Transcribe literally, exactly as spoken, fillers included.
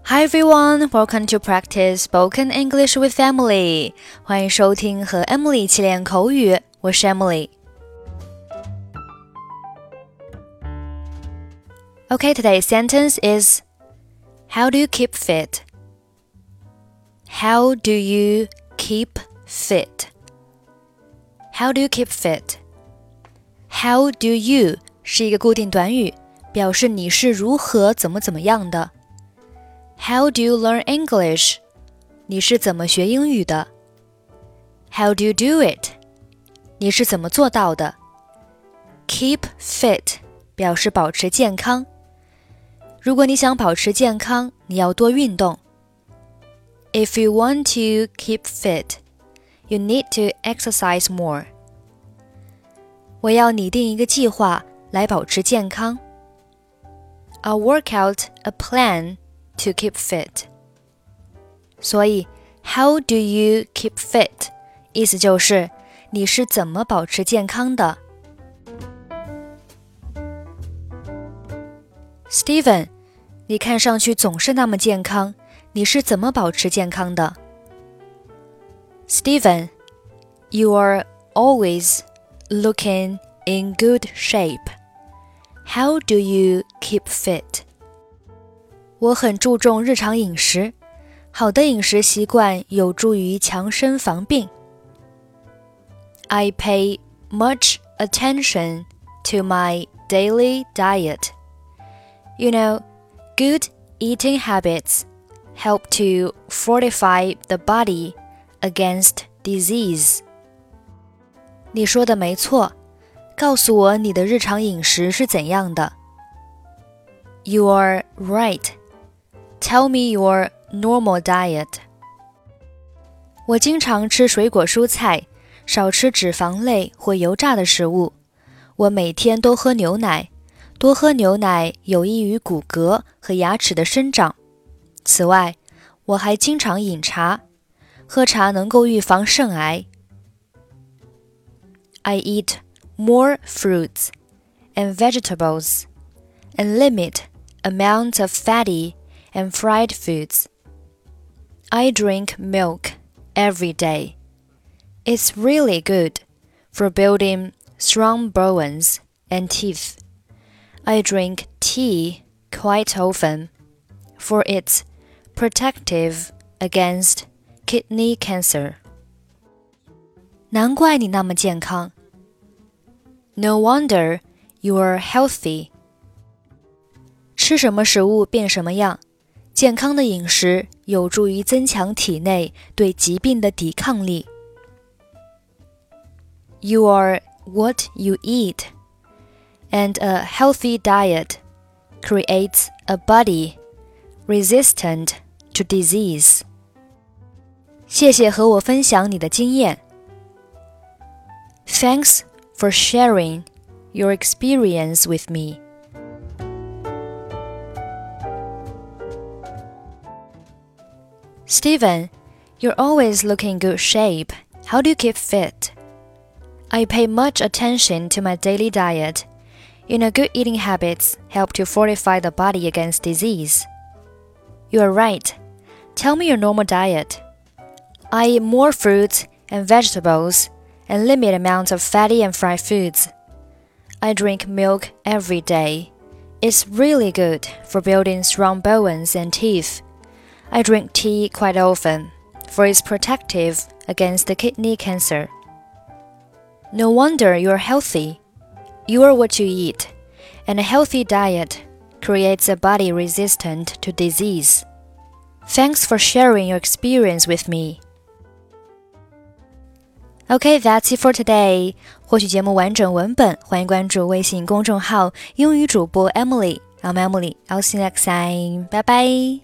Hi everyone, welcome to practice spoken English with Emily. 欢迎收听和 Emily 一起练口语，我是 Emily. Okay, today's sentence is How do you keep fit? How do you keep fit? How do you keep fit? How do you 是一个固定短语，表示你是如何怎么怎么样的。How do you learn English? 你是怎么学英语的？ How do you do it? 你是怎么做到的？ Keep fit 表示保持健康。如果你想保持健康，你要多运动。If you want to keep fit, you need to exercise more. 我要拟定一个计划来保持健康。I'll work out a plan to keep fit. 所以 How do you keep fit? 意思就是你是怎么保持健康的。 Steven, 你看上去总是那么健康，你是怎么保持健康的？ Steven, you are always looking in good shape. How do you keep fit? 我很注重日常饮食，好的饮食习惯有助于强身防病。I pay much attention to my daily diet. You know, good eating habits help to fortify the body against disease. 你说的没错，告诉我你的日常饮食是怎样的。You are right.Tell me your normal diet. 我经常吃水果蔬菜，少吃脂肪类或油炸的食物。我每天都喝牛奶，多喝牛奶有益于骨骼和牙齿的生长。此外，我还经常饮茶，喝茶能够预防肾癌。I eat more fruits and vegetables and limit amounts of fatty,and fried foods. I drink milk every day. It's really good for building strong bones and teeth. I drink tea quite often, for it's protective against kidney cancer. 难怪你那么健康。No wonder you are healthy. 吃什么食物变什么样。健康的饮食有助于增强体内对疾病的抵抗力。You are what you eat, and a healthy diet creates a body resistant to disease. 谢谢和我分享你的经验。Thanks for sharing your experience with me.Steven, you're always looking in good shape. How do you keep fit? I pay much attention to my daily diet. You know, good eating habits help to fortify the body against disease. You are right. Tell me your normal diet. I eat more fruits and vegetables and limit amounts of fatty and fried foods. I drink milk every day. It's really good for building strong bones and teeth.I drink tea quite often, for it's protective against the kidney cancer. No wonder you're healthy. You are what you eat, and a healthy diet creates a body resistant to disease. Thanks for sharing your experience with me. Okay, that's it for today. 获取节目完整文本，欢迎关注微信公众号英语主播 Emily. I'm Emily. I'll see you next time. Bye bye.